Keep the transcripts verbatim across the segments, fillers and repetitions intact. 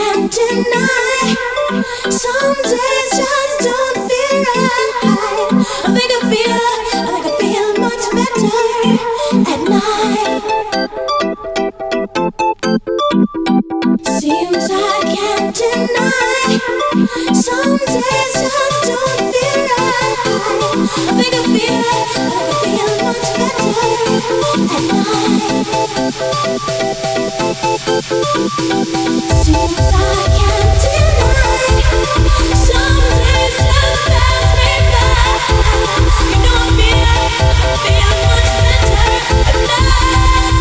can't deny. Some days just don't feel right. I think I feel, I think I feel much better at night. Seems I can't deny. Some days just don't feel right. I think I feel, I think I feel much better at night. Seems I can't deny. Some days just pass me by. You know I feel, I feel much better at night.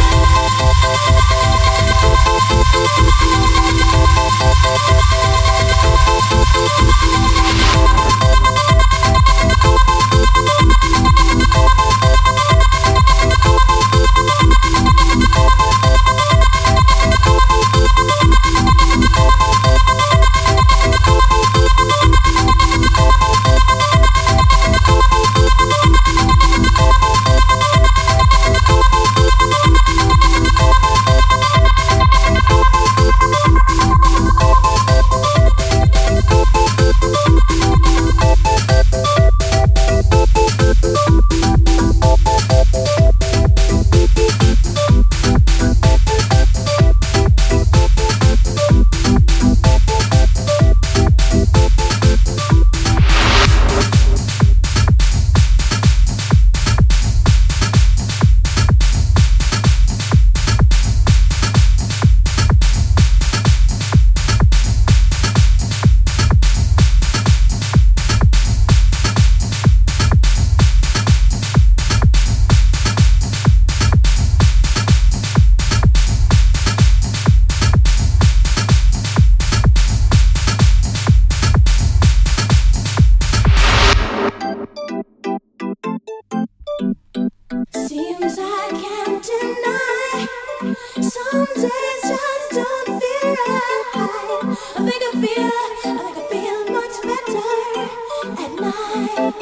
Seems I can't deny. Some days just don't feel right. I think I feel, I think I feel much better at night.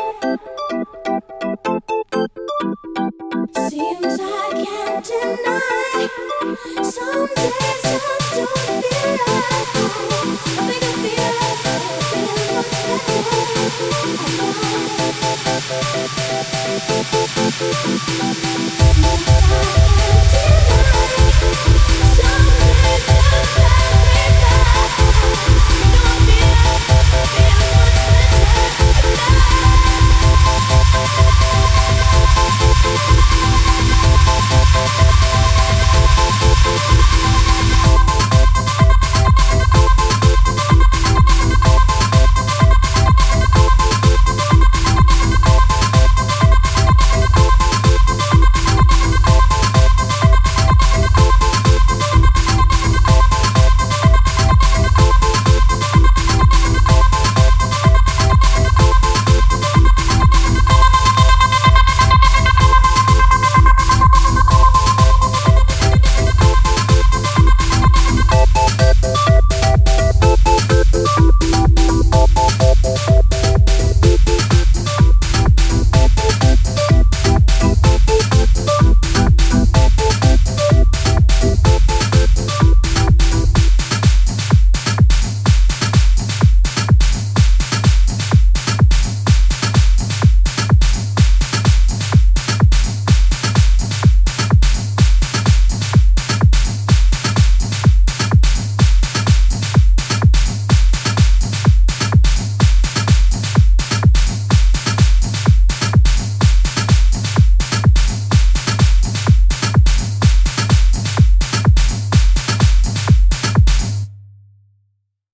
Seems I can't deny. Some days